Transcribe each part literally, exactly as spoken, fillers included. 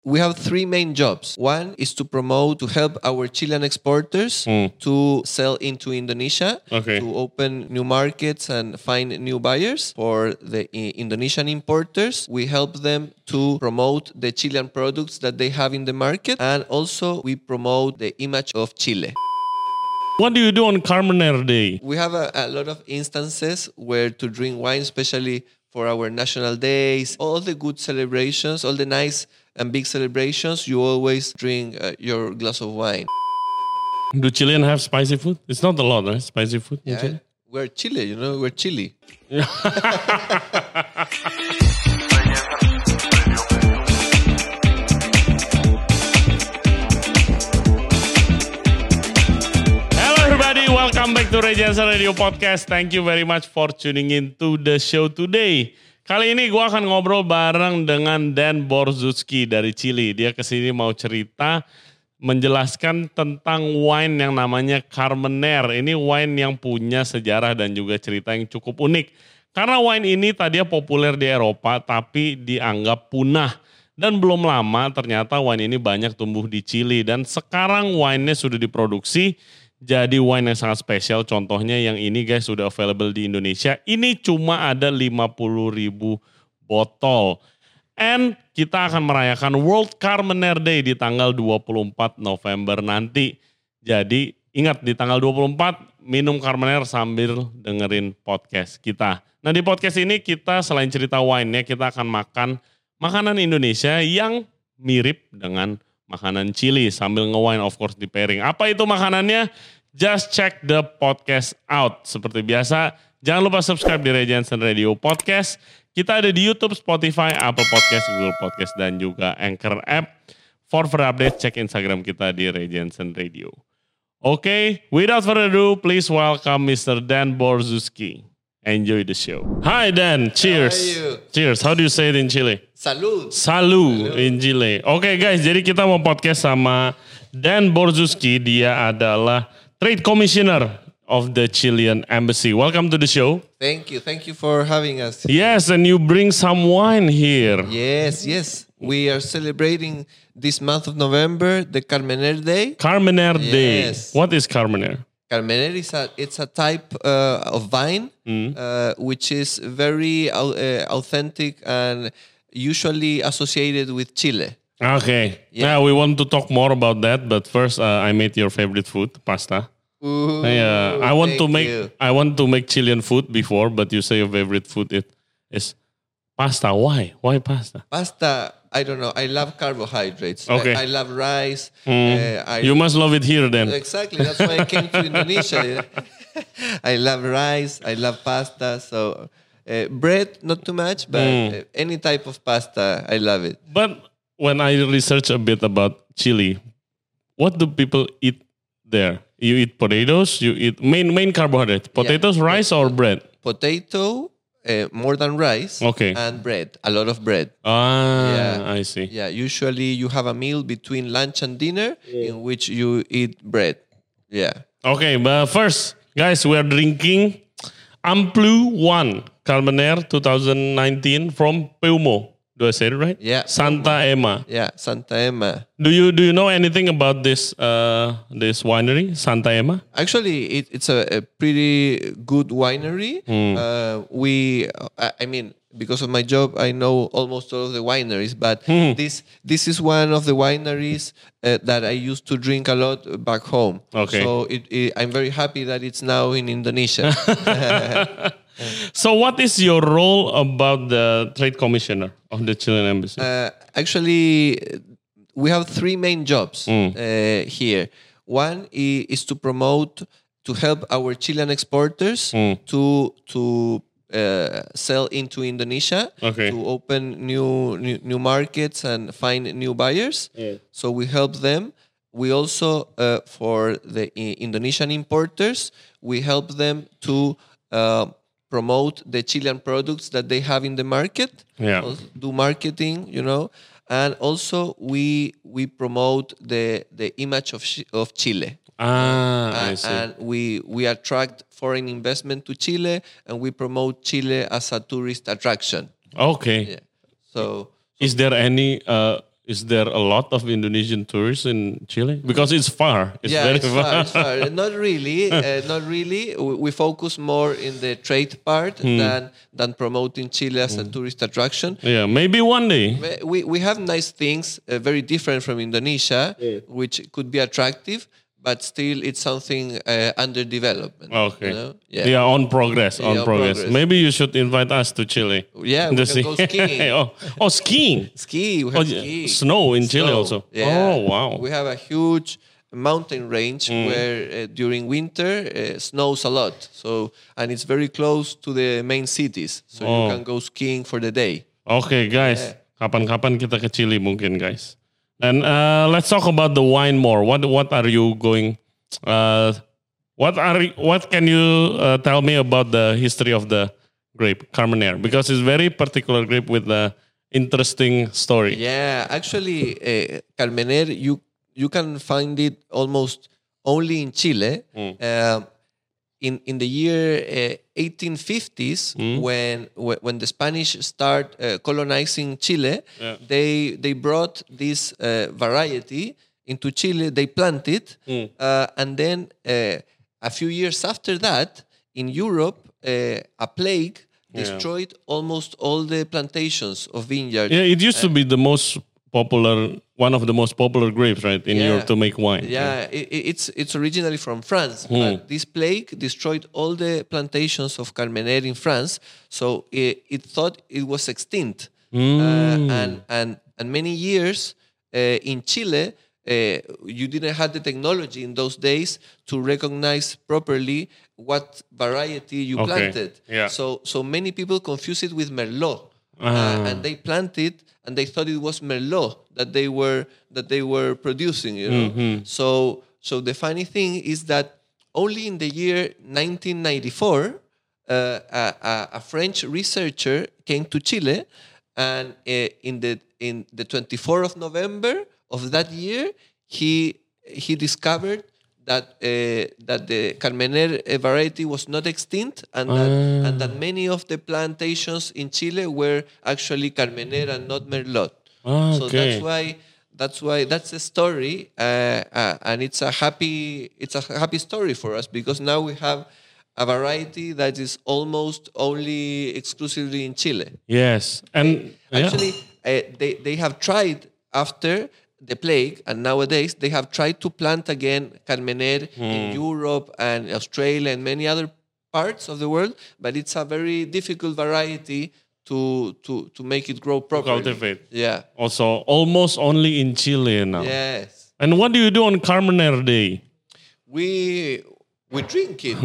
We have three main jobs. One is to promote, to help our Chilean exporters Mm. to sell into Indonesia, Okay. to open new markets and find new buyers. For the I- Indonesian importers, we help them to promote the Chilean products that they have in the market. And also we promote the image of Chile. What do you do on Carmenere Day? We have a, a lot of instances where to drink wine, especially for our national days, all the good celebrations, all the nice and big celebrations, you always drink uh, your glass of wine. Do Chilean have spicy food? It's not a lot, right? Spicy food in Yeah, Chile? we're Chile, you know, we're Chile. Welcome back to Ray Jensen Radio Podcast. Thank you very much for tuning in to the show today. Kali ini gue akan ngobrol bareng dengan Dan Borzuski dari Chile. Dia kesini mau cerita, menjelaskan tentang wine yang namanya Carmenere. Ini wine yang punya sejarah dan juga cerita yang cukup unik. Karena wine ini tadinya populer di Eropa tapi dianggap punah. Dan belum lama ternyata wine ini banyak tumbuh di Chile. Dan sekarang wine-nya sudah diproduksi jadi wine yang sangat spesial. Contohnya yang ini guys sudah available di Indonesia. Ini cuma ada lima puluh ribu botol. And kita akan merayakan World Carmenere Day di tanggal dua puluh empat November nanti. Jadi ingat di tanggal dua puluh empat minum Carmenere sambil dengerin podcast kita. Nah di podcast ini kita selain cerita wine-nya kita akan makan makanan Indonesia yang mirip dengan makanan Chile sambil nge-wine of course di pairing. Apa itu makanannya? Just check the podcast out. Seperti biasa, jangan lupa subscribe di Ray Jensen Radio Podcast. Kita ada di YouTube, Spotify, Apple Podcast, Google Podcast, dan juga Anchor App. For further update, cek Instagram kita di Ray Jensen Radio. Oke, okay, without further ado, please welcome Mister Dan Borzuski. Enjoy the show. Hi Dan, cheers. How are you? Cheers. How do you say it in Chile? Salud. Salud in Chile. Oke okay, guys, jadi kita mau podcast sama Dan Borzuski. Dia adalah Trade Commissioner of the Chilean Embassy. Welcome to the show. Thank you. Thank you for having us. Yes, and you bring some wine here. Yes, yes. We are celebrating this month of November, the Carmenere Day. Carmenere Day. Yes. What is Carmenere? Carmenere is a, it's a type uh, of vine Mm. uh, which is very au- uh, authentic and usually associated with Chile. Okay. Yeah. Yeah, we want to talk more about that, but first uh, I made your favorite food, pasta. Ooh, Yeah, I want to thank make you. I want to make Chilean food before, but you say your favorite food it is pasta. Why? Why pasta? Pasta. I don't know. I love carbohydrates. Okay. I, I love rice. Mm. Uh, I, You must love it here then. Exactly. That's why I came to Indonesia. I love rice. I love pasta. So uh, bread, not too much, but Mm. uh, any type of pasta, I love it. But when I research a bit about Chile, what do people eat there? You eat potatoes. You eat main main carbohydrates. Potatoes, Yeah. rice, or bread. Potato, uh, more than rice. Okay. And bread. A lot of bread. Ah, Yeah. I see. Yeah. Usually you have a meal between lunch and dinner in which you eat bread. Yeah. Okay, but first, guys, we are drinking Amplu One Carmenere twenty nineteen from Peumo. Do I say it right? Yeah. Santa Emma. Yeah. Santa Emma. Do you do you know anything about this uh, this winery, Santa Emma? Actually, it, it's a, a pretty good winery. Mm. Uh, we, I, I mean, because of my job, I know almost all of the wineries. But Mm. this this is one of the wineries uh, that I used to drink a lot back home. Okay. So it, it, I'm very happy that it's now in Indonesia. So, what is your role about the trade commissioner of the Chilean embassy? Uh, actually, we have three main jobs Mm. uh, here. One i- is to promote, to help our Chilean exporters Mm. to to uh, sell into Indonesia, Okay. to open new, new new markets and find new buyers. Yeah. So we help them. We also, uh, for the I- Indonesian importers, we help them to uh, promote the Chilean products that they have in the market. Yeah. Also do marketing, you know, and also we we promote the the image of Chi- of Chile. Ah, I Uh, see. and we we attract foreign investment to Chile, and we promote Chile as a tourist attraction. Okay. Yeah. So Is there any uh, is there a lot of Indonesian tourists in Chile? Because it's far. It's yeah, very it's far. far. It's far. Not really. Uh, not really. We, we focus more in the trade part Hmm. than than promoting Chile as a tourist attraction. Yeah, maybe one day. We we have nice things, uh, very different from Indonesia, which could be attractive, but still it's something uh, under development. Okay. You know? Yeah. on progress, on Yeah, on progress. progress. Maybe you should invite us to Chile. Yeah, we To can see. go skiing. oh, oh, skiing. Ski, we Oh, have yeah. ski. Snow in Chile Snow, also. yeah. Oh, wow. We have a huge mountain range where uh, during winter uh, snows a lot. So and it's very close to the main cities, so Oh. you can go skiing for the day. Oke guys, kapan-kapan kita ke Chile mungkin guys. And uh, let's talk about the wine more. What what are you going? Uh, what are what can you uh, tell me about the history of the grape Carmenere? Because it's very particular grape with the interesting story. Yeah, actually, uh, Carmener, you you can find it almost only in Chile. Um, in in the year uh, eighteen fifties, when when when the Spanish start uh, colonizing Chile, Yeah. they they brought this uh, variety into Chile. They planted, uh, and then uh, a few years after that, in Europe, uh, a plague destroyed almost all the plantations of vineyards. Yeah, it used to be the most popular, one of the most popular grapes, right, in Yeah. Europe to make wine. Yeah, i i- it's it's originally from France, but this plague destroyed all the plantations of Carmenere in France. So it, it thought it was extinct, uh, and and and many years uh, in Chile, uh, you didn't have the technology in those days to recognize properly what variety you Okay, planted. yeah. So so many people confuse it with Merlot, uh, and they planted and they thought it was Merlot that they were that they were producing. You know, so so the funny thing is that only in the year nineteen ninety-four, uh, a, a, a French researcher came to Chile, and uh, in the in the twenty-fourth of November of that year, he he discovered that uh, that the Carmenere uh, variety was not extinct, and that and that many of the plantations in Chile were actually Carmenere and not Merlot. Ah, So okay. that's why that's why that's the story, uh, uh, and it's a happy it's a happy story for us because now we have a variety that is almost only exclusively in Chile. Yes, and yeah. Actually, uh, they they have tried after the plague, and nowadays they have tried to plant again Carmenere in Europe and Australia and many other parts of the world, but it's a very difficult variety to to to make it grow properly. cultivate. Yeah. Also, almost only in Chile now. Yes. And what do you do on Carmenere Day? We we drink it.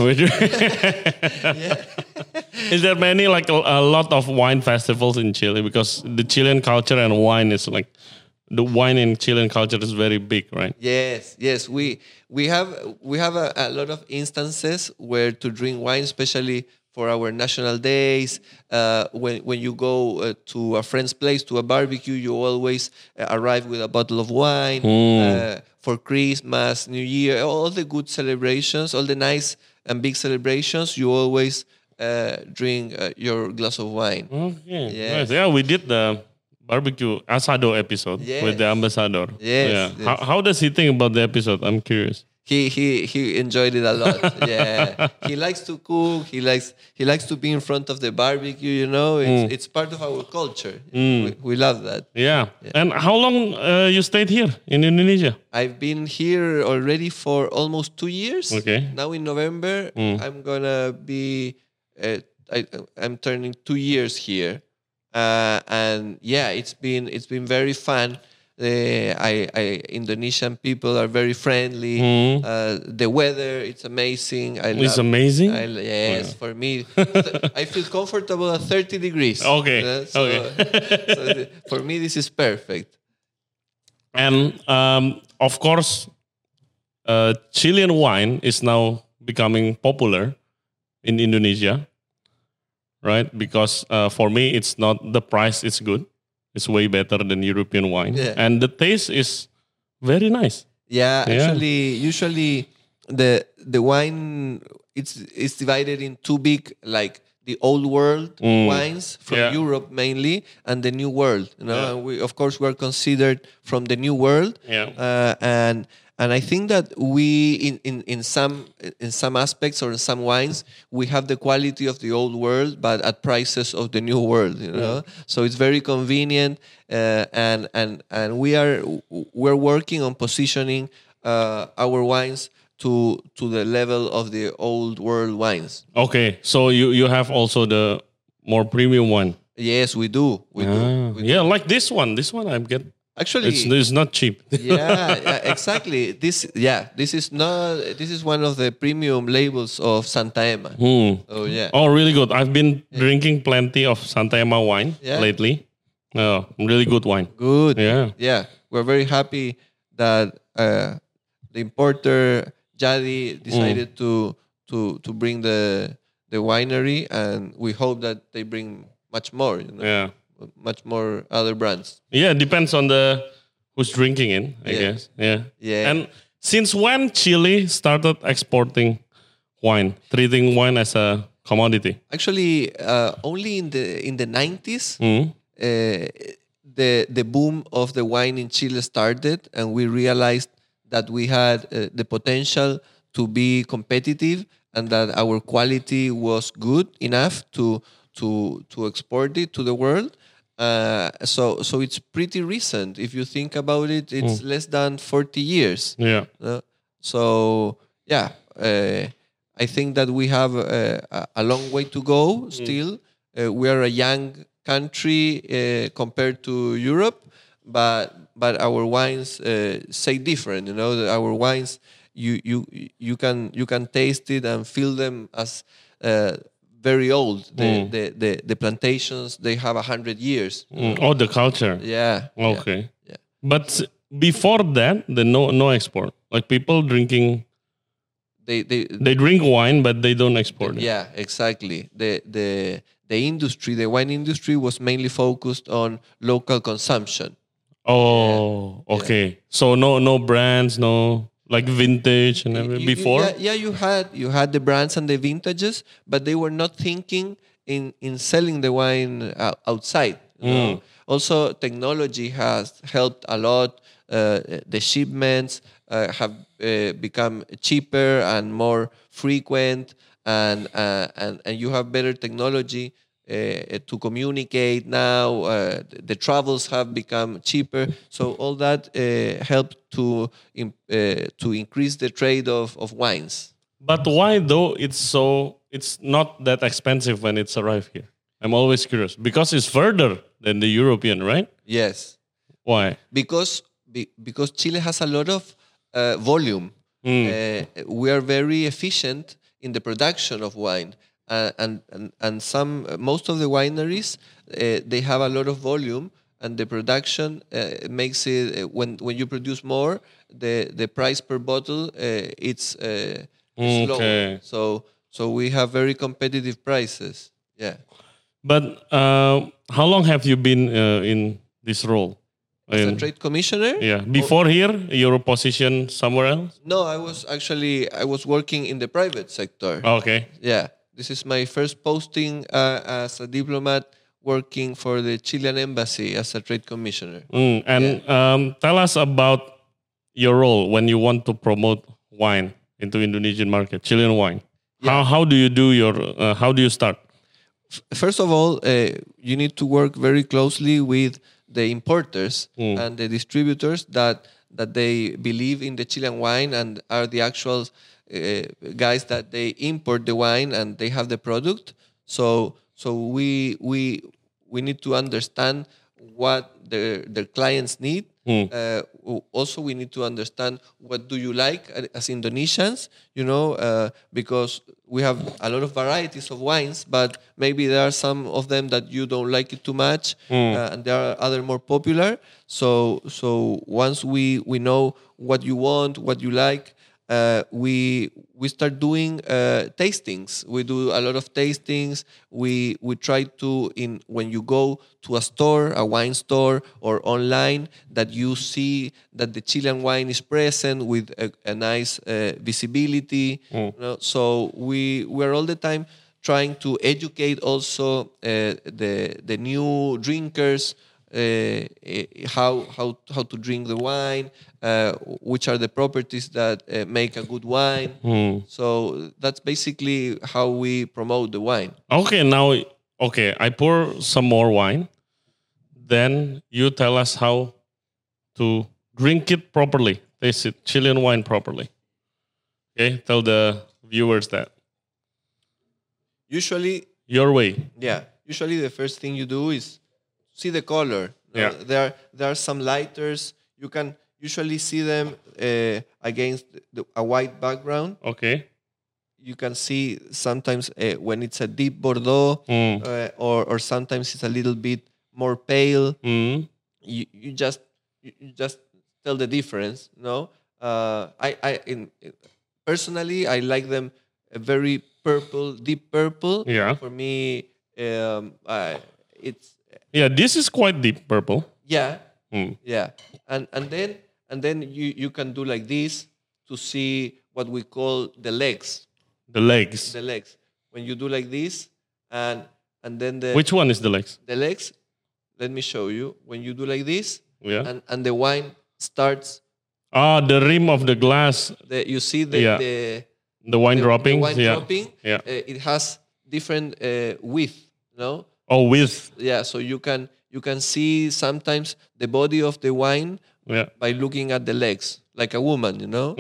Is there many like a, a lot of wine festivals in Chile? Because the Chilean culture and wine is like the wine in Chilean culture is very big, right? Yes, yes, we we have we have a, a lot of instances where to drink wine, especially for our national days. Uh, when when you go uh, to a friend's place to a barbecue, you always uh, arrive with a bottle of wine. Uh, for Christmas, New Year, all the good celebrations, all the nice and big celebrations, you always uh, drink uh, your glass of wine. Okay. Yes. Nice. Yeah, we did the barbecue asado episode Yes. with the ambassador. Yes, Yeah. yes. How, how does he think about the episode? I'm curious. He he he enjoyed it a lot. Yeah, he likes to cook. He likes he likes to be in front of the barbecue. You know, it's, it's part of our culture. We, we love that. Yeah. And how long uh, you stayed here in Indonesia? I've been here already for almost two years. Okay. Now in November, I'm gonna be. Uh, I, I'm turning two years here, uh, and yeah, it's been it's been very fun. The I, I Indonesian people are very friendly. Uh, the weather, it's amazing. I It's love, amazing? I, yes, for me, I feel comfortable at thirty degrees. Okay, Uh, so, okay. so the- for me, this is perfect. And um, of course, uh, Chilean wine is now becoming popular in Indonesia, right? Because uh, for me, it's not the price is good. It's way better than European wine. Yeah. And the taste is very nice. Yeah, Yeah. actually, usually the the wine it's it's divided in two big like the old world Mm. wines from Yeah. Europe mainly, and the new world. You know, Yeah. and we of course we are considered from the new world. Yeah. Uh, and and I think that we in, in, in some in some aspects or in some wines we have the quality of the old world, but at prices of the new world. You know, so it's very convenient, uh, and and and we are we're working on positioning uh, our wines to to the level of the old world wines. Okay, so you you have also the more premium one. Yes, we do. We do. Ah, We do. yeah, like this one. This one I get. Actually, It's it's not cheap. yeah, yeah, exactly. This, yeah, this is not. This is one of the premium labels of Santa Emma. Hmm. Oh yeah, Oh, really good. I've been drinking plenty of Santa Emma wine Yeah. lately. Oh, really good wine. good. Yeah. yeah. We're very happy that uh, the importer Jadi decided to to to bring the the winery, and we hope that they bring much more. You know, Yeah. much more other brands. Yeah, depends on the who's drinking in, I Yeah. guess. Yeah. Yeah. And since when Chile started exporting wine, treating wine as a commodity? Actually, uh, only in the in the nineties. Hmm. uh, the the boom of the wine in Chile started, and we realized that we had uh, the potential to be competitive, and that our quality was good enough to to to export it to the world. Uh, so so it's pretty recent. If you think about it, it's less than forty years. Yeah. Uh, so yeah, uh, I think that we have uh, a, a long way to go still. Uh, we are a young country uh, compared to Europe, but but our wines uh, say different. You know, that our wines you you you can you can taste it and feel them as uh, very old. The, Mm. the the the plantations, they have a hundred years. Mm. Oh, the culture. Yeah. yeah, Okay. Yeah. But s- before that, the no no export. Like people drinking, They they they drink wine, but they don't export it. Yeah, exactly. The the the industry, the wine industry, was mainly focused on local consumption. Oh, okay. So no no brands, no like vintage and You- everything you- before. yeah, yeah, you had you had the brands and the vintages, but they were not thinking in in selling the wine uh, outside. you know. Also, technology has helped a lot. Uh, the shipments uh, have uh, become cheaper and more frequent, and uh, and and you have better technology uh, to communicate now. Uh, the, the travels have become cheaper, so all that uh, helped to im- uh, to increase the trade of, of wines. But why though it's so it's not that expensive when it's arrived here? I'm always curious because it's further than the European, right? Yes, Why? because be, because Chile has a lot of uh, volume. Uh, we are very efficient in the production of wine, uh, and, and and some most of the wineries uh, they have a lot of volume, and the production uh, makes it uh, when when you produce more, the the price per bottle uh, it's uh, it's lower. Okay. So so we have very competitive prices. Yeah. But uh, how long have you been uh, in this role? As a In- trade commissioner? yeah. Before here, your position somewhere else? No, I was actually I was working in the private sector. Okay. Yeah, this is my first posting uh, as a diplomat working for the Chilean embassy as a trade commissioner. Mm, and um, tell us about your role when you want to promote wine into Indonesian market, Chilean wine. How how do you do your? Uh, how do you start? First of all, uh, you need to work very closely with the importers Mm. and the distributors that that they believe in the Chilean wine and are the actual uh, guys that they import the wine and they have the product. So so we we we need to understand what their their clients need. Mm. Uh, w- also, we need to understand what do you like a- as Indonesians. You know, uh, because we have a lot of varieties of wines, but maybe there are some of them that you don't like it too much, uh, and there are other more popular. So, so once we we know what you want, what you like, uh, we we start doing uh, tastings. We do a lot of tastings. We we try to in when you go to a store, a wine store, or online, that you see that the Chilean wine is present with a, a nice uh, visibility. You know? So we we are all the time trying to educate also uh, the the new drinkers uh, how how how to drink the wine, uh, which are the properties that uh, make a good wine. Mm. So that's basically how we promote the wine. Okay, now, okay, I pour some more wine. Then you tell us how to drink it properly, taste it, Chilean wine properly. Okay, tell the viewers that. Usually, Your way. yeah. Usually, the first thing you do is see the color. Yeah. Uh, there, there are some lighters. You can usually see them uh, against the, a white background. Okay. You can see sometimes uh, when it's a deep Bordeaux, Mm. uh, or or sometimes it's a little bit more pale. Mm. You you just you you just tell the difference. No, uh, I I in, personally I like them a very purple, deep purple. Yeah. For me, um, I, it's Yeah, this is quite deep purple. yeah, Mm. yeah, and and then and then you you can do like this to see what we call the legs. The legs. The legs. When you do like this, and and then the Which one is the legs? the legs. Let me show you. When you do like this, Yeah. and and the wine starts. Ah, the rim of the glass, The, you see the Yeah. the, the wine the, dropping. the wine yeah. dropping. Yeah. Uh, it has different uh, width. No. Oh, with. Yeah. So you can you can see sometimes the body of the wine Yeah. by looking at the legs, like a woman. You know.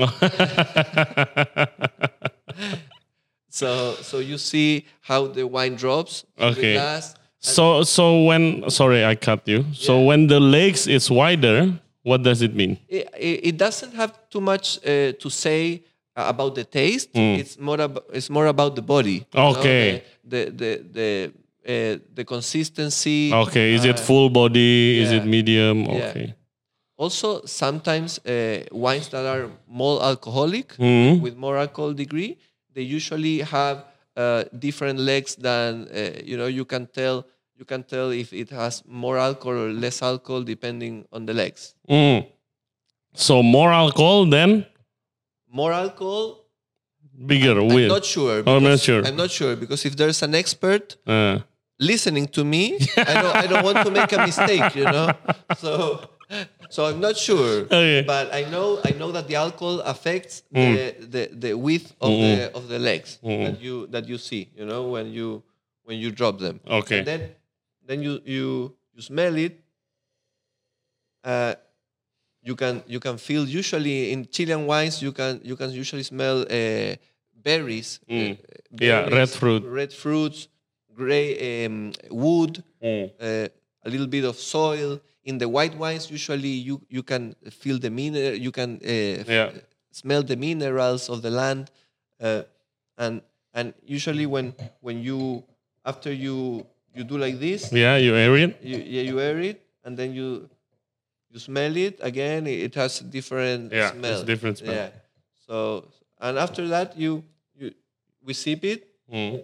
So so you see how the wine drops to Okay. the glass. So so when sorry I cut you. So Yeah. when the legs is wider, what does it mean? It, it, it doesn't have too much uh, to say uh, about the taste. It's more about it's more about the body. you know, Okay. The the the the, uh, the consistency. Okay, is it uh, full body? Is yeah. it medium? Yeah. Okay. Also, sometimes uh, wines that are more alcoholic, Mhm. with more alcohol degree, they usually have uh, different legs than uh, you know. You can tell you can tell if it has more alcohol or less alcohol depending on the legs. Mm. So more alcohol then More alcohol. bigger I'm with. not sure. Oh, I'm not because- sure. I'm not sure because if there's an expert Uh, listening to me, I don't, I don't want to make a mistake, you know. So, so I'm not sure. Okay. But I know, I know that the alcohol affects the, the, the width of the of the legs that you that you see, you know, when you when you drop them. Okay. And then then you you you smell it. Uh, you can you can feel usually in Chilean wines you can you can usually smell uh, berries, uh, Yeah, red berries, fruit. red fruits, gray um, wood, Mm. uh, a little bit of soil. In the white wines, usually you you can feel the mineral, you can uh, f- Yeah. smell the minerals of the land, uh, and and usually when when you after you you do like this, Yeah, you air it. you yeah you air it, and then you you smell it again. It has different Yeah, smell. it's different smell. Yeah. So and after that you you we sip it. Mm.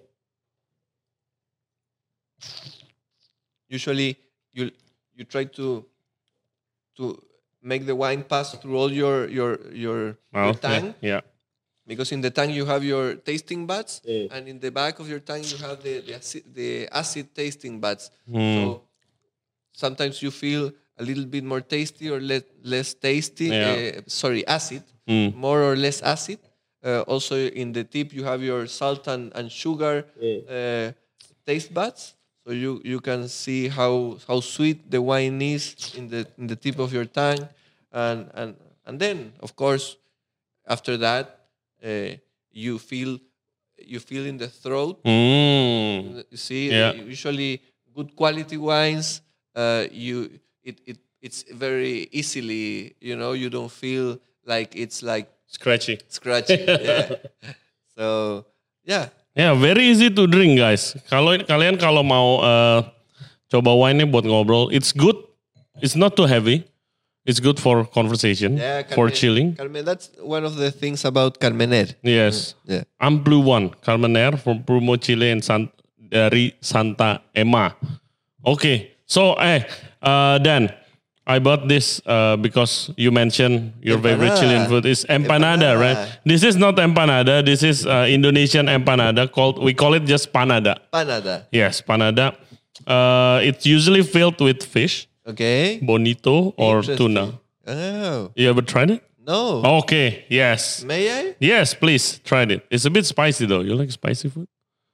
Usually you you try to to make the wine pass through all your your your, your Mouth, tongue, Yeah. because in the tongue you have your tasting buds, Mm. and in the back of your tongue you have the the acid, the acid tasting buds. Mm. So sometimes you feel a little bit more tasty or less less tasty. Yeah. Uh, sorry, acid, Mm. more or less acid. Uh, also in the tip you have your salt and, and sugar uh, taste buds. So you, you can see how, how sweet the wine is in the in the tip of your tongue, and and and then of course after that uh, you feel you feel in the throat. Mm. You see, Yeah. usually good quality wines, uh, you it, it it's very easily, you know, you don't feel like it's like Scratchy. scratchy. Yeah. So yeah. Ya, yeah, very easy to drink guys. Kalau kalian kalau mau uh, coba wine-nya buat ngobrol, it's good. It's not too heavy. It's good for conversation, Yeah, for Carmen- chilling. Carmen, that's one of the things about Carmener. Yes. Yeah. I'm Blue One, Carmener from Prumo Chile and San, dari Santa Emma. Oke, okay. So eh uh, Dan, I bought this uh, because you mentioned your favorite Empanada. Chilean food is empanada, Empanada. right? This is not empanada. This is uh, Indonesian empanada called, we call it just panada. Panada. Yes, panada. Uh, it's usually filled with fish, Okay. bonito or Interesting. tuna. Oh. You ever tried it? No. Okay, yes. May I? Yes, please, try it. It's a bit spicy though. You like spicy food?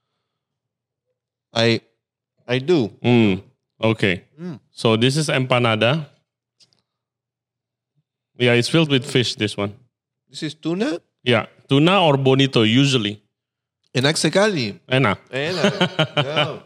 I I do. Mm, okay. Mm. So this is empanada. Yeah, it's filled with fish, this one. This is tuna? Yeah, tuna or bonito usually. Enak sekali. Enak. Enak. No.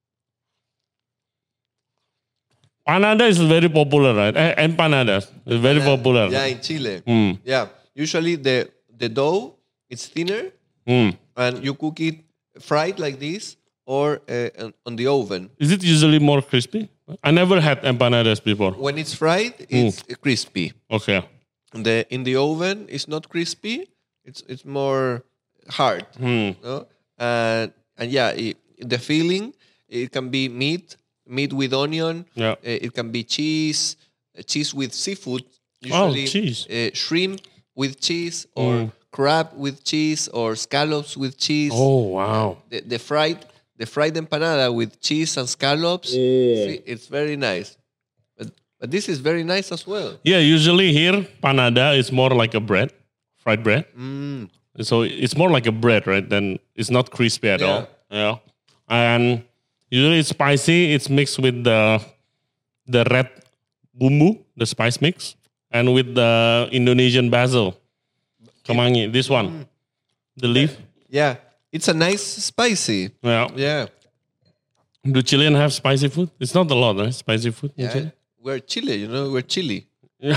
Panada is very popular, right? Eh, empanadas is very popular. Yeah, in Chile. Mm, Yeah. Usually the the dough it's thinner mm. and you cook it fried like this or uh, on- on the oven. Is it usually more crispy? I never had empanadas before. When it's fried, it's crispy. Okay. The in the oven it's not crispy. It's it's more hard. Hmm. No? And and yeah, it, the filling it can be meat, meat with onion. Yeah. Uh, it can be cheese, uh, cheese with seafood. Oh, Usually, cheese. Uh, shrimp with cheese, or crab with cheese, or scallops with cheese. Oh, wow. The, the fried the fried empanada with cheese and scallops. See, it's very nice. But but this is very nice as well. Yeah, usually here, panada is more like a bread, fried bread. Mm. So it's more like a bread, right? Then it's not crispy at Yeah. all. Yeah. And usually it's spicy. It's mixed with the the red bumbu, the spice mix, and with the Indonesian basil. Kemangi, this one. The leaf. Yeah, it's a nice spicy. Yeah. Yeah. Do Chilean have spicy food? It's not a lot, right? Spicy food in Yeah, Chile? we're Chile, you know, we're Chile.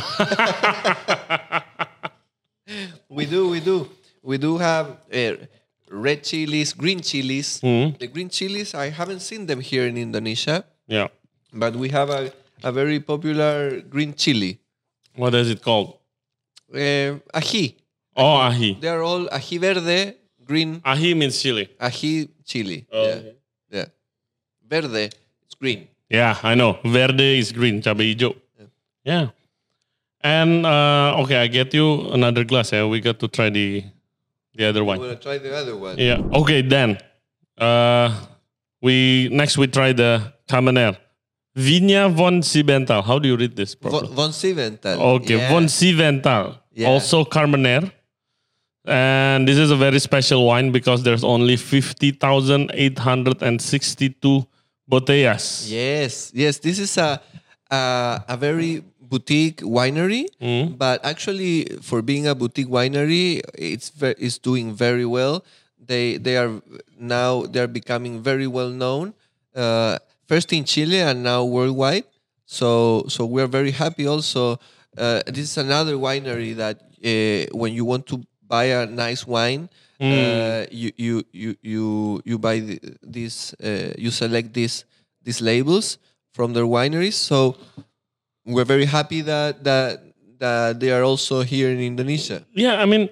We do, we do. We do have uh, red chilies, green chilies. Mhm. The green chilies, I haven't seen them here in Indonesia, Yeah. but we have a, a very popular green chili. What is it called? Uh, ají. Oh, ají. They are all ají verde, green, Ají means chili. ají chili. Oh, yeah. okay. yeah. Verde, it's green. Yeah, I know. Verde is green, cabai hijau. Yeah. And uh, okay, I get you another glass. Yeah, we got to try the the other I'm one. going to try the other one. Yeah. Okay, then. Uh, we next we try the Carmener. Vigna von Siebenthal. How do you read this properly? Von, von Siebenthal. Okay, Yeah. von Siebenthal. Yeah. Also Carmener. And this is a very special wine because there's only fifty thousand eight hundred sixty-two botellas. Yes, yes. This is a a, a very boutique winery, Mm. but actually, for being a boutique winery, it's ve- it's doing very well. They they are now they are becoming very well known, uh, first in Chile and now worldwide. So so we're very happy. Also, uh, this is another winery that uh, when you want to buy a nice wine, uh, you, you you you you buy the, this uh, you select these these labels from their wineries. So we're very happy that that that they are also here in Indonesia. Yeah, I mean,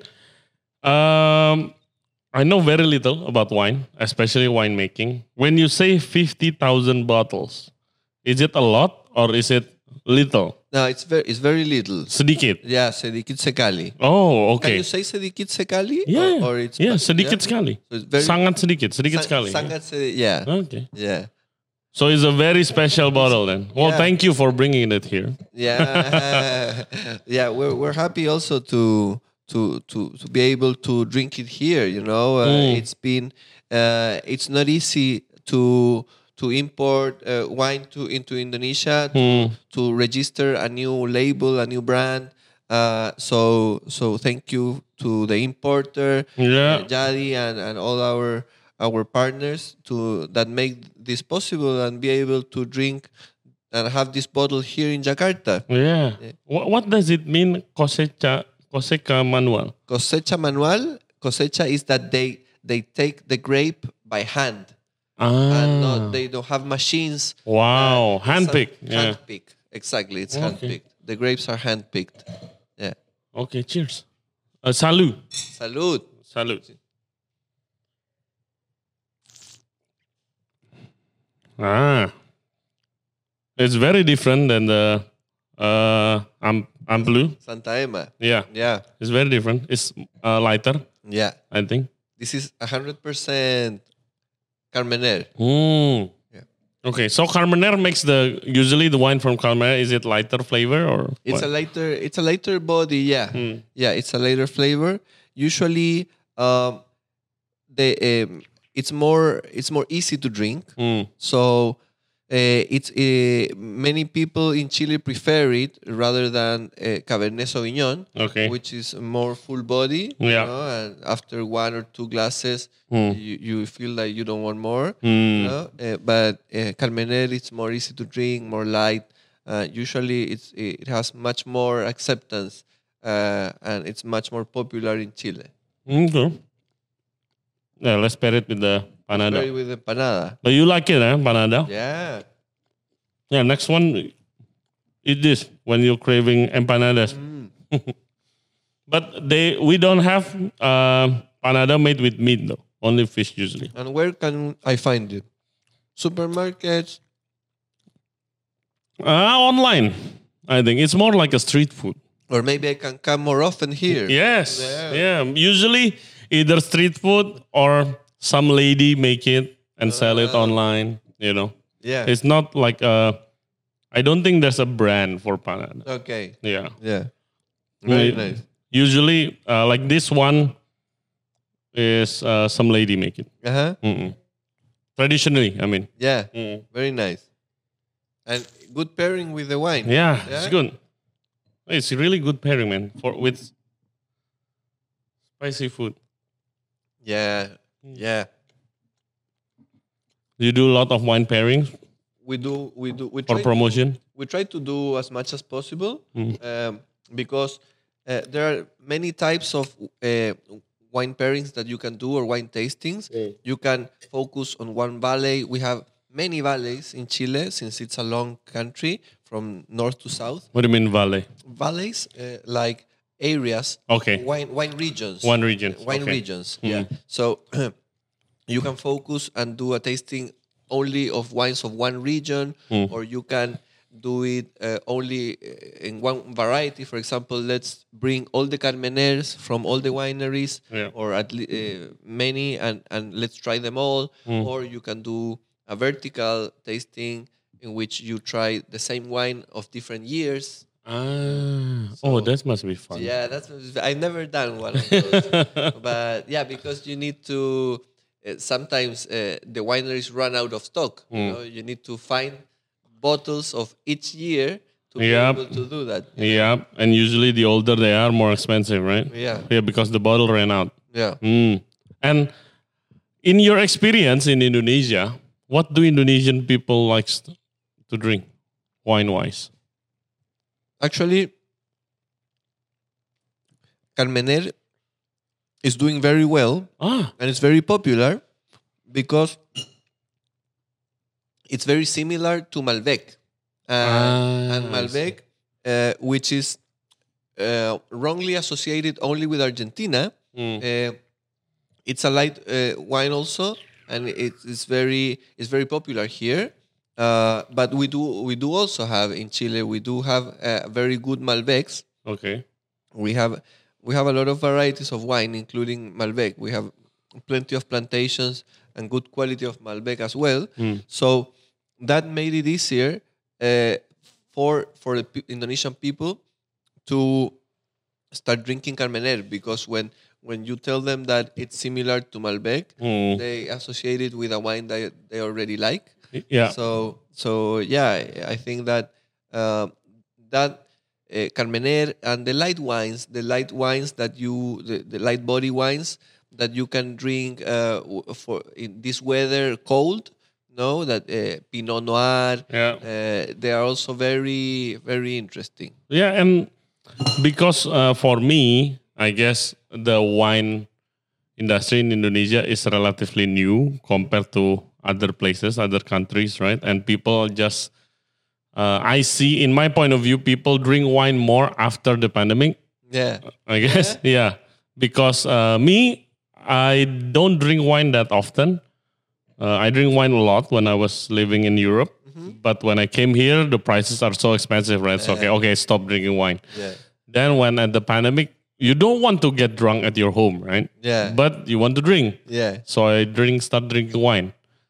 um, I know very little about wine, especially winemaking. When you say fifty thousand bottles, is it a lot or is it little? No, it's very it's very little. Sedikit. Yeah, sedikit sekali. Oh, Can okay. you say sedikit sekali? Yeah, Or, or it's yeah, sedikit yeah? sekali. So it's very Sangat sedikit, sedikit Sa- sekali. Sangat se- yeah. Okay. Yeah. So it's a very special bottle then. Well, Yeah. thank you for bringing it here. Yeah. yeah, we're we're happy also to to to to be able to drink it here, you know. Uh, Mm. It's been uh, it's not easy to to import uh, wine to into Indonesia to, Mm. to register a new label, a new brand. Uh, so so thank you to the importer, Yeah. uh, Jadi, and, and all our our partners to that make this possible and be able to drink and have this bottle here in Jakarta. Yeah. What, what does it mean, cosecha, cosecha manual? Cosecha manual, cosecha is that they they take the grape by hand and not, Ah. they don't have machines. Wow. It's Handpicked. a- Yeah. Handpicked. Exactly, it's Okay. handpicked. The grapes are handpicked. Yeah. Okay, cheers. Uh, salud. Salud. Salud. Ah. It's very different than the uh, Am- Amplu. Santa Emma. Yeah, Yeah, it's very different. It's uh, lighter, yeah. I think. This is one hundred percent Carmener. Hmm. Yeah. Okay, so Carmener makes the usually the wine from Carmener. Is it lighter flavor or It's what? a lighter. It's a lighter body. Yeah, Hmm. yeah. It's a lighter flavor. Usually, um, the um, it's more it's more easy to drink. Hmm. So uh, it's uh, many people in Chile prefer it rather than uh, Cabernet Sauvignon, Okay. which is more full body. Yeah. You know, and after one or two glasses, Hmm. you, you feel like you don't want more. Hmm. You know? Uh, but uh, Carmener, it's more easy to drink, more light. Uh, usually, it's it has much more acceptance, uh, and it's much more popular in Chile. Okay. Yeah, let's pair it with the panada. Very with empanada. But you like it, eh? Panada? Yeah. Yeah, next one, eat this when you're craving empanadas. Mm. But they we don't have uh, panada made with meat though. Only fish usually. And where can I find it? Supermarkets. Uh, online, I think. It's more like a street food. Or maybe I can come more often here. Yes. Yeah. Yeah. Usually either street food or some lady make it and sell it Ah. online, you know. Yeah. It's not like a, I don't think there's a brand for panada. Okay. Yeah. Yeah. Very We- nice. Usually, uh, like this one is uh, some lady make it. Uh huh. Mm-mm. Traditionally, I mean. Yeah. Mm. Very nice. And good pairing with the wine. Yeah, Yeah? it's good. It's really good pairing, man, for with spicy food. Yeah. Mm. Yeah. You do a lot of wine pairings We do. We do. We for try promotion. we try to do as much as possible Mm. um, because uh, there are many types of uh, wine pairings that you can do or wine tastings. Mm. You can focus on one valley. We have many valleys in Chile since it's a long country from north to south. What do you mean valley? Valleys uh, like areas, Okay. wine wine regions, One region. wine Okay. regions. Yeah. So you can focus and do a tasting only of wines of one region, Mm. or you can do it uh, only uh, in one variety. For example, let's bring all the Carmeners from all the wineries, Yeah. or at le- uh, many, and and let's try them all. Mm. Or you can do a vertical tasting in which you try the same wine of different years. Ah. oh, So- that must be fun. Yeah, that's I've never done one of those, but yeah, because you need to. Uh, sometimes uh, the wineries run out of stock. You Mm. know, you need to find bottles of each year to Yep. be able to do that. Yeah, and usually the older they are, more expensive, right? Yeah, Yeah, because the bottle ran out. yeah. Mm. And in your experience in Indonesia, what do Indonesian people like to drink, wine-wise? Actually, Carmener is doing very well, Ah, and it's very popular because it's very similar to Malbec. Uh, Ah, and Malbec, uh, which is uh, wrongly associated only with Argentina. mm. Uh, it's a light uh, wine also, and it, it's very it's very popular here. Uh, but we do we do also have in Chile. We do have uh, very good Malbecs. Okay. We have we have a lot of varieties of wine, including Malbec. We have plenty of plantations and good quality of Malbec as well. Mm. So that made it easier uh, for for the pe- Indonesian people to start drinking Carmener, because when when you tell them that it's similar to Malbec, Mm. they associate it with a wine that they already like. Yeah. So so yeah, I I think that uh, that uh, Carmener and the light wines, the light wines that you, the, the light body wines that you can drink uh, w- for in this weather, cold. No, that uh, Pinot Noir. Yeah. Uh, they are also very very interesting. Yeah, and because uh, for me, I guess the wine industry in Indonesia is relatively new compared to other places, other countries, right? And people just, uh, I see in my point of view, people drink wine more after the pandemic, Yeah, I guess. Yeah. Because uh, me, I don't drink wine that often. Uh, I drink wine a lot when I was living in Europe. But when I came here, the prices are so expensive, right? So okay, okay, stop drinking wine. Yeah. Then when at the pandemic, you don't want to get drunk at your home, right? Yeah. But you want to drink. Yeah. So I drink, start drinking wine.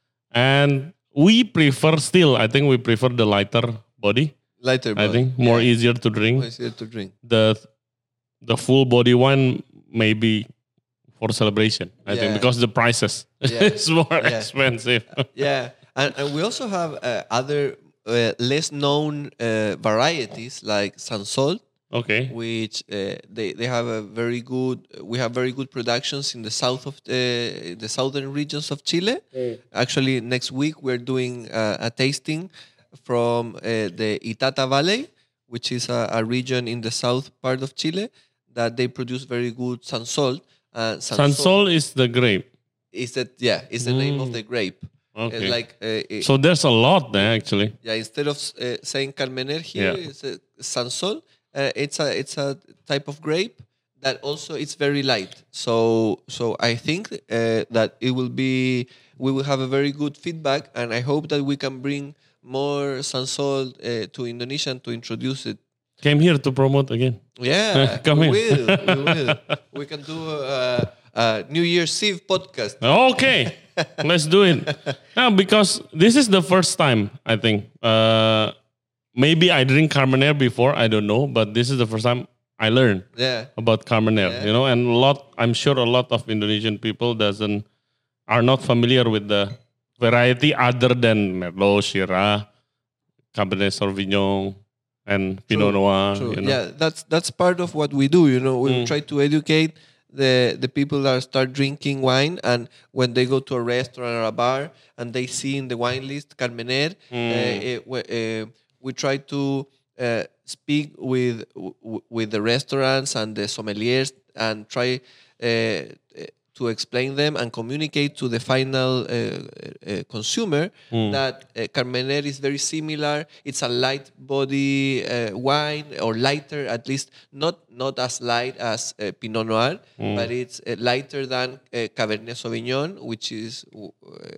And we prefer still, I think we prefer the lighter body. Lighter I body. think more Yeah. easier to drink. More easier to drink. The the full body wine maybe for celebration, I Yeah. think, because the prices Yeah. is more Yeah. expensive. Yeah, and, and we also have uh, other uh, less known uh, varieties like Sansol, Okay. which uh, they they have a very good. We have very good productions in the south of uh, the southern regions of Chile. Actually, next week we're doing uh, a tasting from uh, the Itata Valley, which is a, a region in the south part of Chile that they produce very good Sansol. Uh, Sansol is the grape. is that yeah? Is the name of the grape. Uh, Okay. like uh, it- So there's a lot there actually. yeah, instead of uh, saying Carmener here, Yeah. it's a Sansol. Uh, it's a it's a type of grape that also it's very light. So so I think uh, that it will be we will have a very good feedback, and I hope that we can bring more Sansol uh, to Indonesia and to introduce it. Came here to promote again. Yeah, Come we in. will. We will. We can do a, a New Year's Eve podcast. Okay, let's do it. Now, because this is the first time, I think. Uh, maybe I drink Carmener before, I don't know, but this is the first time I learned Yeah. about Carmener. Yeah. You know, and a lot. I'm sure a lot of Indonesian people doesn't are not familiar with the variety other than Merlot, Shiraz, Cabernet Sauvignon, and Pinot True, Noir. True. You know? Yeah, that's that's part of what we do. You know, we Mm. try to educate the the people that start drinking wine, and when they go to a restaurant or a bar and they see in the wine list Carmener, uh, eh, we, uh, we try to uh, speak with w- with the restaurants and the sommeliers and try uh, to explain them and communicate to the final uh, uh, consumer that uh, Carmener is very similar. It's a light body uh, wine, or lighter, at least not not as light as uh, Pinot Noir, but it's uh, lighter than uh, Cabernet Sauvignon, which is uh,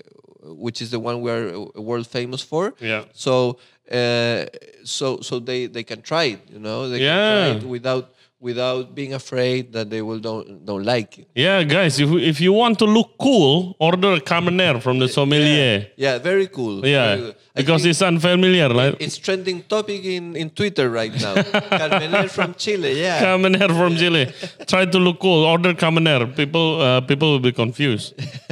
which is the one we are uh, world famous for. Yeah. So uh, so so they they can try it. You know, they Yeah. can try it without without being afraid that they will don't don't like it. Yeah, guys, if if you want to look cool, order a Carmener from the sommelier. Yeah, very cool. Yeah, very good. I because think it's unfamiliar, right? it's trending topic in, in Twitter right now. Carmener from Chile, yeah. Carmener from Chile. Try to look cool. Order Carmener. People, uh, people will be confused.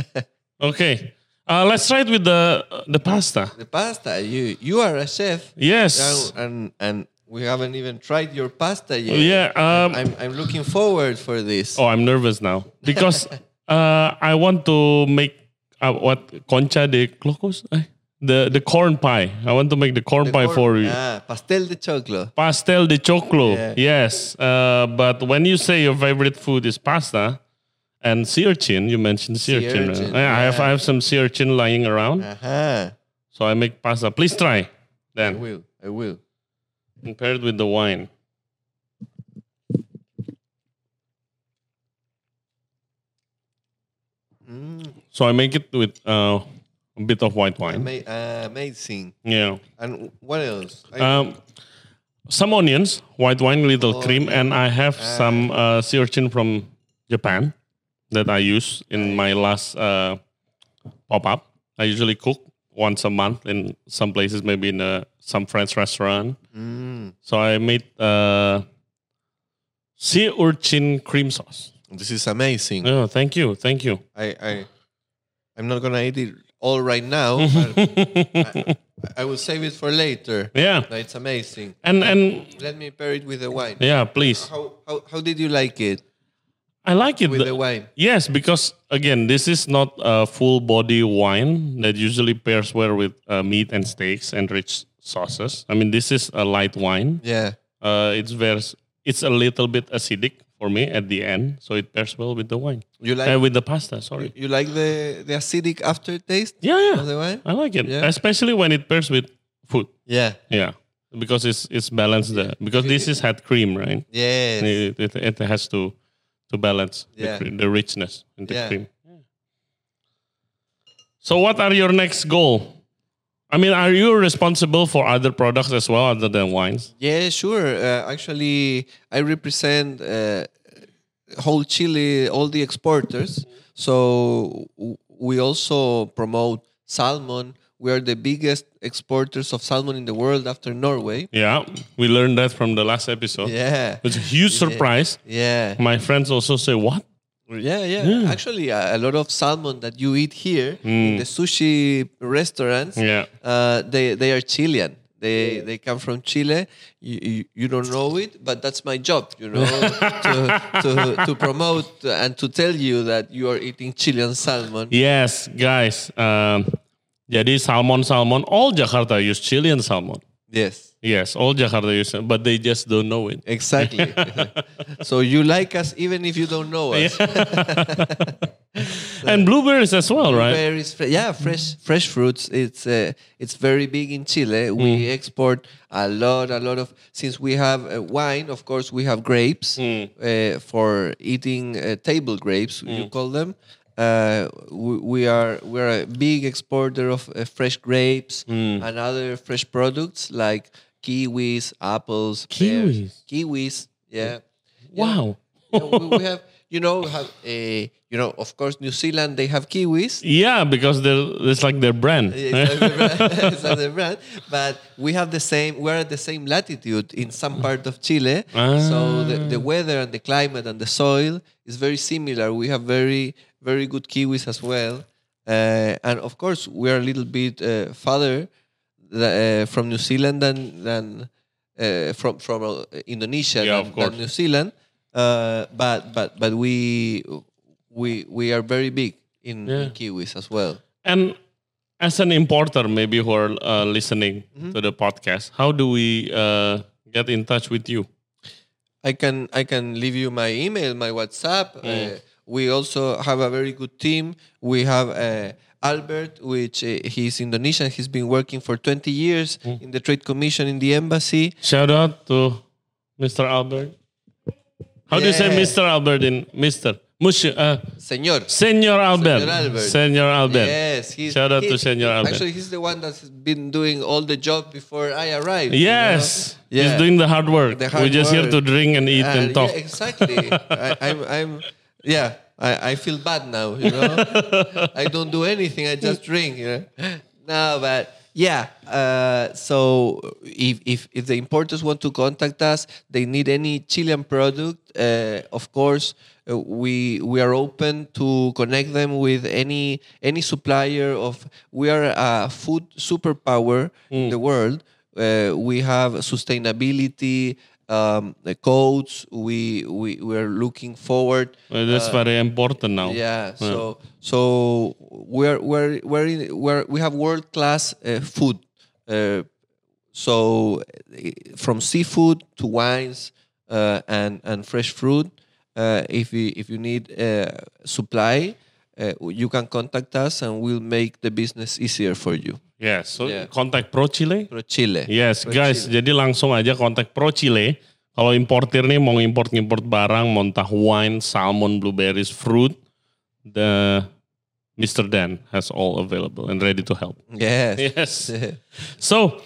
Okay, uh, let's try it with the the pasta. The pasta, you you are a chef. Yes. And and, and we haven't even tried your pasta yet. Yeah. Um, I'm I'm looking forward for this. oh, I'm nervous now because uh, I want to make uh, what concha de clocos. Eh? The the corn pie. I want to make the corn The pie corn- for you. Ah, pastel de choclo. Pastel de choclo. Yeah. Yes. Uh, but when you say your favorite food is pasta and sea urchin, you mentioned sea, Sea urchin. urchin, right? I have I yeah. have some sea urchin lying around, Uh-huh. so I make pasta. Please try. I Then will. I will. compare it with the wine. Mm, So I make it with uh, a bit of white wine. ama- uh, amazing. Yeah. And what else? I, Um, some onions, white wine, little cream, and I have some uh, sea urchin from Japan that I use in my last uh, pop up. I usually cook once a month in some places, maybe in a, some French restaurant. Mm, So I made uh, sea urchin cream sauce. this is amazing. Oh, thank you, thank you. I, I, I'm not gonna eat it all right now. But I, I will save it for later. Yeah, No, it's amazing. and and Let me pair it with the wine. yeah, please. How, how how did you like it I like it. with The- the wine? Yes, because again, this is not a full body wine that usually pairs well with uh, meat and steaks and rich sauces. I mean, this is a light wine. Yeah. Uh, it's very, it's a little bit acidic for me at the end, so it pairs well with the wine. You like Uh, with the pasta, sorry. you like the the acidic aftertaste Yeah, of yeah, the wine? I like it, Yeah. especially when it pairs with food. Yeah. Yeah, because it's it's balanced there. Because this is had cream, right? Yes. It, it, it has to to balance Yeah. the, cre- the richness in the Yeah. cream. So, what are your next goal? I mean, are you responsible for other products as well other than wines? Yeah, sure. Uh, actually, I represent uh, whole Chile, all the exporters. So w- we also promote salmon. We are the biggest exporters of salmon in the world after Norway. Yeah, we learned that from the last episode. Yeah. It's a huge surprise. Yeah. My friends also say, what? Yeah, yeah. Yeah. Actually, a, a lot of salmon that you eat here in the sushi restaurants, Yeah. uh, they they are Chilean. They they come from Chile. You, you, you don't know it, but that's my job, you know, to, to to promote and to tell you that you are eating Chilean salmon. Yes, guys. Um, jadi salmon-salmon, all Jakarta use Chilean salmon. Yes, Yes, all Jakarta use it, but they just don't know it. exactly. So you like us even if you don't know us. And blueberries as well, right? Berries, fre- yeah, fresh fresh fruits. It's uh, it's very big in Chile. We export a lot, a lot of. Since we have uh, wine, of course, we have grapes uh, for eating uh, table grapes. You call them. Uh, we, we are we're a big exporter of uh, fresh grapes and other fresh products like kiwis, apples, pears, kiwis. Yeah. Wow. Yeah, we, we have, you know, have a, you know, of course, New Zealand, they have kiwis. Yeah, because they're, it's like their brand. It's like the brand, it's like the brand. But we have the same, we're at the same latitude in some part of Chile. So the, the weather and the climate and the soil is very similar. We have very, very good kiwis as well. Uh, and of course, we're a little bit uh, farther uh, from New Zealand than, than uh, from, from uh, Indonesia Yeah, than, of course. than New Zealand. Uh, but but but we we we are very big in, Yeah. in kiwis as well. And as an importer, maybe who are uh, listening Mm-hmm. to the podcast, how do we uh, get in touch with you? I can I can leave you my email, my WhatsApp. Uh, we also have a very good team. We have uh, Albert, which uh, he's Indonesian. He's been working for twenty years in the Trade Commission in the embassy. Shout out to Mister Albert. How do you say Yeah. Mister Albert in Mister Monsieur, uh, Señor. Senor Albert. Senor Albert. Senor Albert. Yes, he's, Shout out he- to Senor Albert. Actually, he's the one that's been doing all the job before I arrived. you Yes, know? he's Yeah. doing the hard work. The We're hard just here work. to drink and eat and Uh, talk. Yeah, exactly. I, I'm, I'm, yeah. I, I feel bad now. You know, I don't do anything. I just drink. You know, no, but yeah. Uh, so if, if if the importers want to contact us, they need any Chilean product. Uh, of course, uh, we we are open to connect them with any any supplier of. We are a food superpower in the world. Uh, we have sustainability um, the codes. We we we are looking forward. Well, that's very important now. Yeah. So so we're we're we're in, we're we have world class uh, food. Uh, so uh, from seafood to wines uh, and and fresh fruit. Uh, if you if you need uh, supply, uh, you can contact us and we'll make the business easier for you. Yes, so Yeah. kontak Pro Chile. Pro Chile. Yes, Pro guys, Chile. jadi langsung aja kontak Pro Chile. Kalau importir nih mau import-import barang, mau entah wine, salmon, blueberries, fruit, the Mister Dan has all available and ready to help. Yes. Yes. So,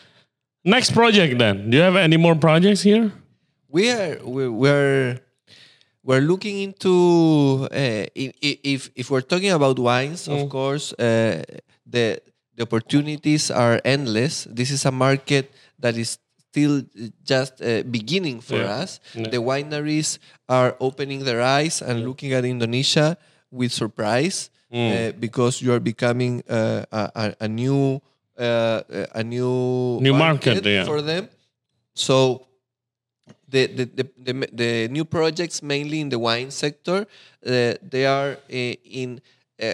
next project then. Do you have any more projects here? We are we we're we're looking into uh, i- i- if if we're talking about wines, of course, uh, the the opportunities are endless. This is a market that is still just uh, beginning for Yeah. us. Yeah. The wineries are opening their eyes and looking at Indonesia with surprise uh, because you are becoming uh, a, a, a new uh, a new New market, yeah. for them. So the the, the the the new projects mainly in the wine sector, uh, they are uh, in uh,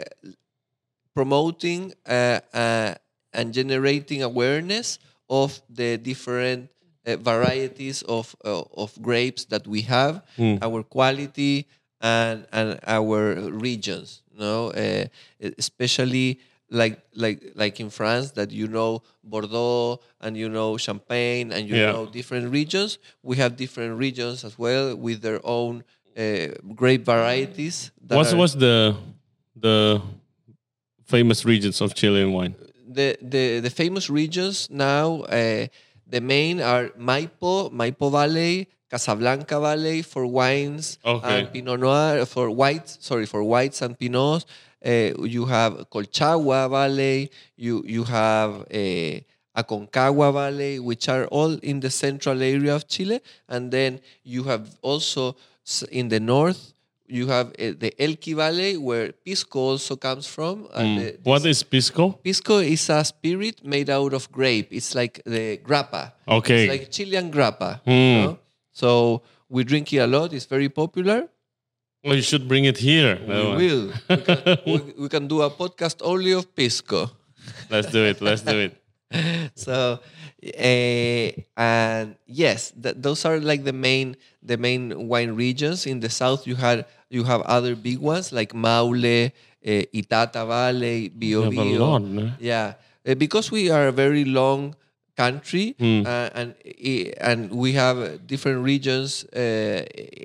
promoting uh, uh, and generating awareness of the different uh, varieties of uh, of grapes that we have, our quality and and our regions. No, uh, especially like like like in France, that you know Bordeaux and you know Champagne and you Yeah. know different regions. We have different regions as well with their own uh, grape varieties. that What's are- what's the the famous regions of Chilean wine? the, the, the famous regions now, uh, the main are Maipo, Maipo Valley, Casablanca Valley for wines, Okay. and Pinot Noir for whites. Sorry, for whites and Pinots. Uh, you have Colchagua Valley. You you have uh, Aconcagua Valley, which are all in the central area of Chile, and then you have also s- in the north. You have uh, the Elqui Valley, where Pisco also comes from. And the- What is pisco? Pisco is a spirit made out of grape. It's like the grappa. Okay. It's like Chilean grappa. Hmm. You know? So we drink it a lot. It's very popular. Oh, you should bring it here. We will. We can, we, we can do a podcast only of Pisco. Let's do it. Let's do it. So, uh, and yes, th- those are like the main the main wine regions. In the south, you had you have other big ones like Maule, uh, Itata Valley, Bio You have a Bio. lot, no? Yeah, Uh, because we are a very long country, Hmm. uh, and i- and we have different regions uh,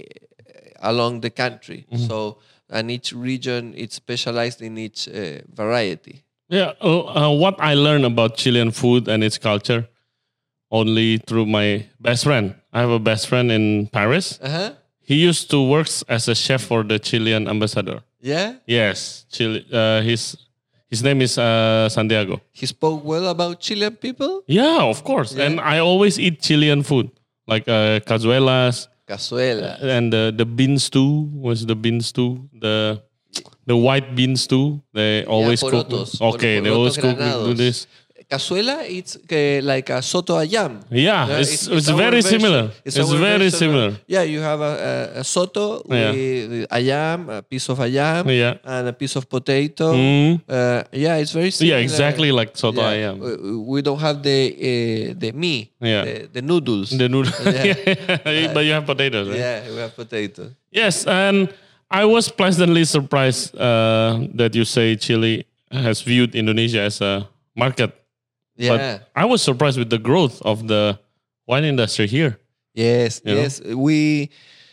along the country. Mm-hmm. So, and each region it's specialized in each uh, variety. Yeah, uh, uh, what I learned about Chilean food and its culture only through my best friend. I have a best friend in Paris. Uh huh. He used to work as a chef for the Chilean ambassador. Yeah. Yes, Chile. Uh, his his name is uh, Santiago. He spoke well about Chilean people. Yeah, of course. Yeah. And I always eat Chilean food like uh, cazuelas Cazuela. and the the bean stew. Was the bean stew the the white bean stew? They always cook. porotos. Okay, Por- they always porotos cook do granados. this. Cazuela, it's uh, like a soto ayam. Yeah, Uh, it's, it's, our very version. similar. It's, our very version similar. of- yeah, you have a, a, a soto Yeah. with ayam, a piece of ayam, Yeah. and a piece of potato. Mm. Uh, yeah, it's very similar. Yeah, exactly like soto Yeah. ayam. We, we don't have the uh, the me, Yeah. the, the noodles. The noodle. Yeah. But you have potatoes, right? Yeah, we have potato. Yes, and I was pleasantly surprised uh, that you say Chile has viewed Indonesia as a market. Yeah. But I was surprised with the growth of the wine industry here. Yes, You know? yes. We,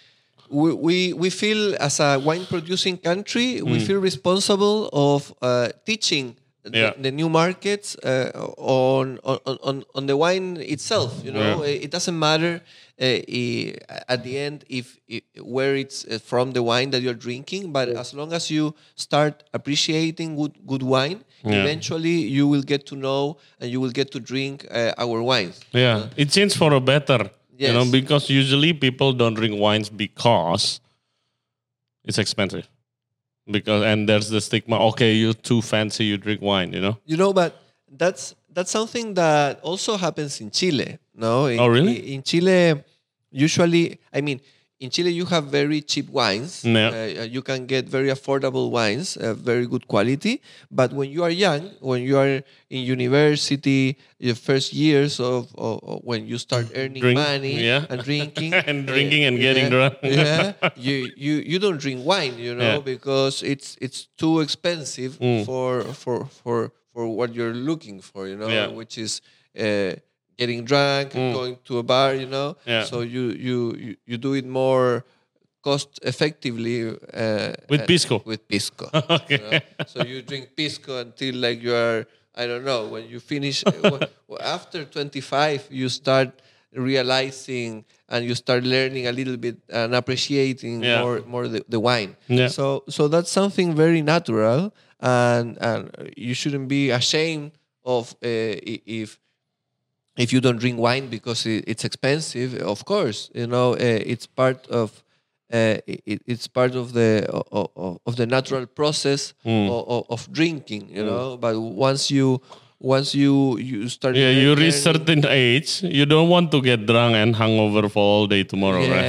we we we feel as a wine producing country, we feel responsible of uh, teaching the, Yeah. the new markets uh, on, on on on the wine itself. You know, Yeah. it doesn't matter uh, i- at the end if, if where it's uh, from the wine that you're drinking, but as long as you start appreciating good good wine, Yeah. eventually you will get to know and you will get to drink uh, our wines. Yeah, it changed for a better. You know, Yes. because usually people don't drink wines because it's expensive. Because and there's the stigma. Okay, you're too fancy. You drink wine. You know. You know, but that's that's something that also happens in Chile. No, in, Oh, really? In, in Chile, usually, I mean, in Chile you have very cheap wines. Yeah. Uh, you can get very affordable wines, uh, very good quality. But when you are young, when you are in university, your first years of, of, of when you start earning Drink, money yeah. and drinking And uh, drinking and getting yeah, drunk. yeah, you, you you don't drink wine, you know, Yeah. because it's it's too expensive Mm. for for for for what you're looking for, you know, Yeah. which is uh, getting drunk, Mm. going to a bar, you know. Yeah. So you you you, you do it more cost effectively uh, With uh, pisco. With pisco. Okay. You know? So you drink pisco until like you are, I don't know, when you finish when- well, after twenty-five, you start realizing and you start learning a little bit and appreciating Yeah. more more the, the wine. Yeah. So so that's something very natural, and and you shouldn't be ashamed of uh, i- if if you don't drink wine because it, it's expensive. Of course, you know uh, it's part of uh, it, it's part of the of, of the natural process Mm. of, of drinking. You know, but once you once you you start Yeah, you reach learning- certain age, you don't want to get drunk and hungover for all day tomorrow, right?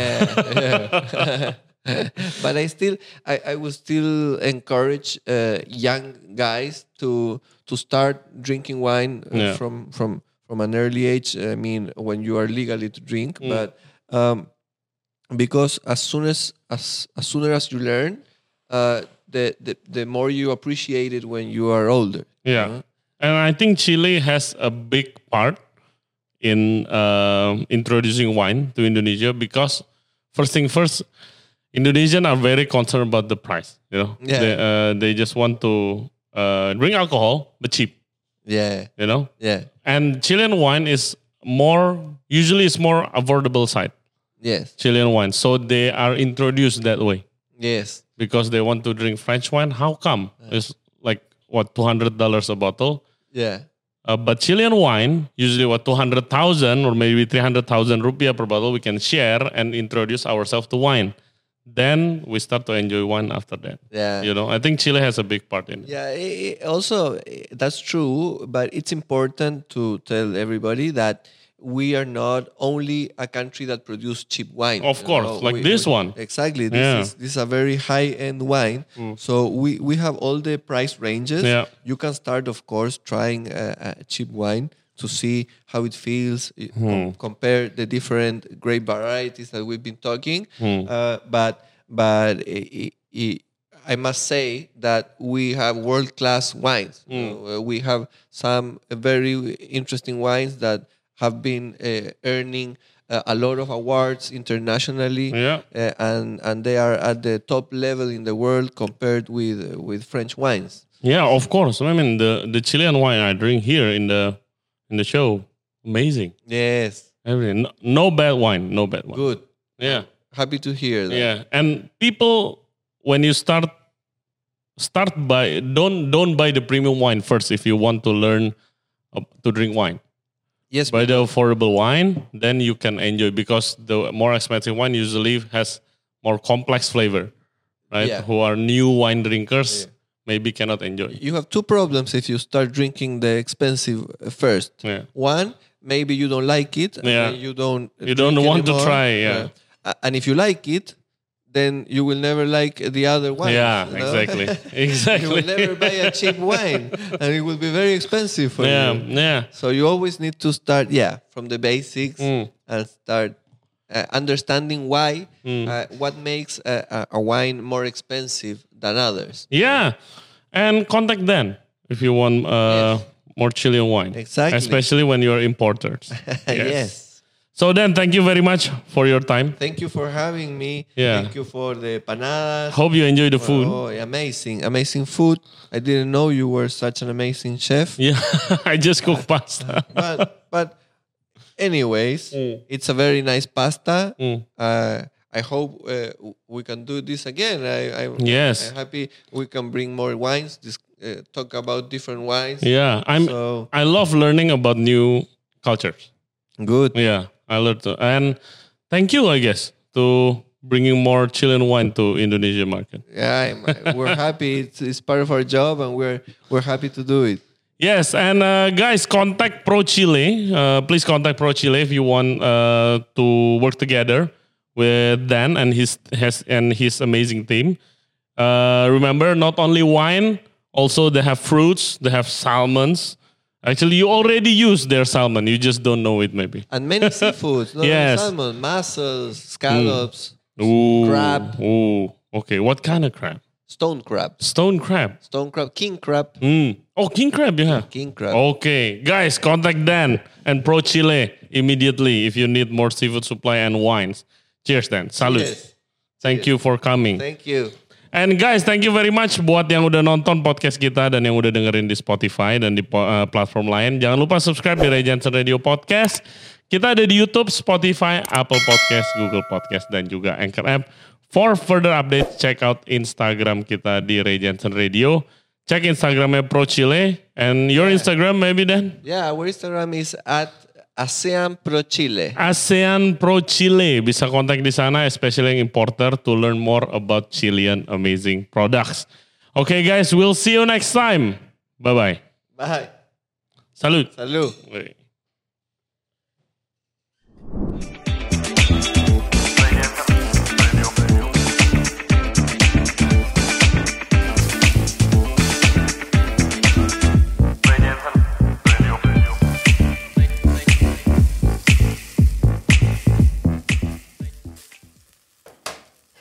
Yeah, yeah. But I still, I, I would still encourage uh, young guys to to start drinking wine uh, Yeah. from from from an early age. I mean, when you are legally to drink, Mm. but um, because as soon as as as sooner as you learn, uh, the, the the more you appreciate it when you are older. you Yeah. know? And I think Chile has a big part in uh, introducing wine to Indonesia because first thing first, Indonesians are very concerned about the price. You know, Yeah. they, uh, they just want to uh, drink alcohol but cheap. Yeah. You know? Yeah. And Chilean wine is more, usually it's more affordable side. Yes. Chilean wine. So they are introduced that way. Yes. Because they want to drink French wine. How come? It's like, what, two hundred dollars a bottle? Yeah. Uh, but Chilean wine, usually what, two hundred thousand or maybe three hundred thousand rupiah per bottle, we can share and introduce ourselves to wine. Then we start to enjoy wine after that. Yeah. You know, I think Chile has a big part in it. Yeah, i- i- also i- that's true, but it's important to tell everybody that we are not only a country that produces cheap wine. Of you course, know, like we- this we- one. Exactly. This Yeah. is this is a very high end wine. So we, we have all the price ranges. Yeah. You can start, of course, trying a, a cheap wine to see how it feels. i- com- compare the different grape varieties that we've been talking. Uh, but but i- i- I must say that we have world class wines. You know, uh, we have some very interesting wines that have been uh, earning uh, a lot of awards internationally, Yeah. uh, and and they are at the top level in the world compared with with French wines. Yeah, of course. I mean, the, the Chilean wine I drink here in the in the show, amazing. Yes, Everything. No, no bad wine. No bad wine. good. Yeah. Happy to hear that. Yeah. And people, when you start, start by, don't don't buy the premium wine first if you want to learn uh, to drink wine. Yes, Buy the affordable wine, then you can enjoy, because the more expensive wine usually has more complex flavor, right? Yeah. Who are new wine drinkers Yeah. maybe cannot enjoy. you have two problems if you start drinking the expensive uh, first. Yeah. One, maybe you don't like it, and Yeah. then you don't. You don't drink want to anymore. try, yeah. Uh, and if you like it, then you will never like the other wine. Yeah, you know? exactly. You Exactly. will never buy a cheap wine, and it will be very expensive for Yeah, you. yeah. So you always need to start, yeah, from the basics Mm. and start uh, understanding why, Mm. uh, what makes a, a, a wine more expensive than others. Yeah. And contact them if you want uh, Yes. more Chilean wine. Exactly. Especially when you're importers. Yes. So then, thank you very much for your time. Thank you for having me. Yeah. Thank you for the panadas. Hope you enjoy the food. Oh, amazing, amazing food. I didn't know you were such an amazing chef. Yeah, I just cook pasta. But but anyways, Mm. it's a very nice pasta. Mm. Uh, I hope uh, we can do this again. I, I, Yes. I'm happy we can bring more wines. This, uh, talk about different wines. Yeah, I'm. So I love learning about new cultures. good. Yeah, I learned to, and thank you, I guess, to bringing more Chilean wine to Indonesia market. Yeah, I'm, we're happy. It's, it's part of our job, and we're we're happy to do it. Yes, and uh, guys, contact Pro Chile. Uh, please contact Pro Chile if you want uh, to work together with Dan and his has and his amazing team. Uh, remember, not only wine, also they have fruits, they have salmons. Actually, you already use their salmon. You just don't know it, maybe. And many seafoods, not Yes. only salmon, mussels, scallops, Ooh, Crab. Ooh, okay. What kind of crab? stone crab, Stone crab. stone crab, king crab, Mm. Oh, king crab, yeah. king crab. Okay, guys, contact Dan and Pro Chile immediately if you need more seafood supply and wines. Cheers, Dan. Salud. Yes. Thank you for coming. Thank you. And guys, thank you very much buat yang udah nonton podcast kita dan yang udah dengerin di Spotify dan di uh, platform lain. Jangan lupa subscribe di Ray Jensen Radio Podcast. Kita ada di YouTube, Spotify, Apple Podcast, Google Podcast, dan juga Anchor App. For further updates, check out Instagram kita di Ray Jensen Radio. Check Instagramnya Pro Chile. And your Instagram maybe, Dan? Yeah, our Instagram is at ASEAN Pro Chile. ASEAN Pro Chile. Bisa kontak di sana, especially yang importer, to learn more about Chilean amazing products. Okay guys, we'll see you next time. Bye-bye. Bye. Salud. Salud. Wait.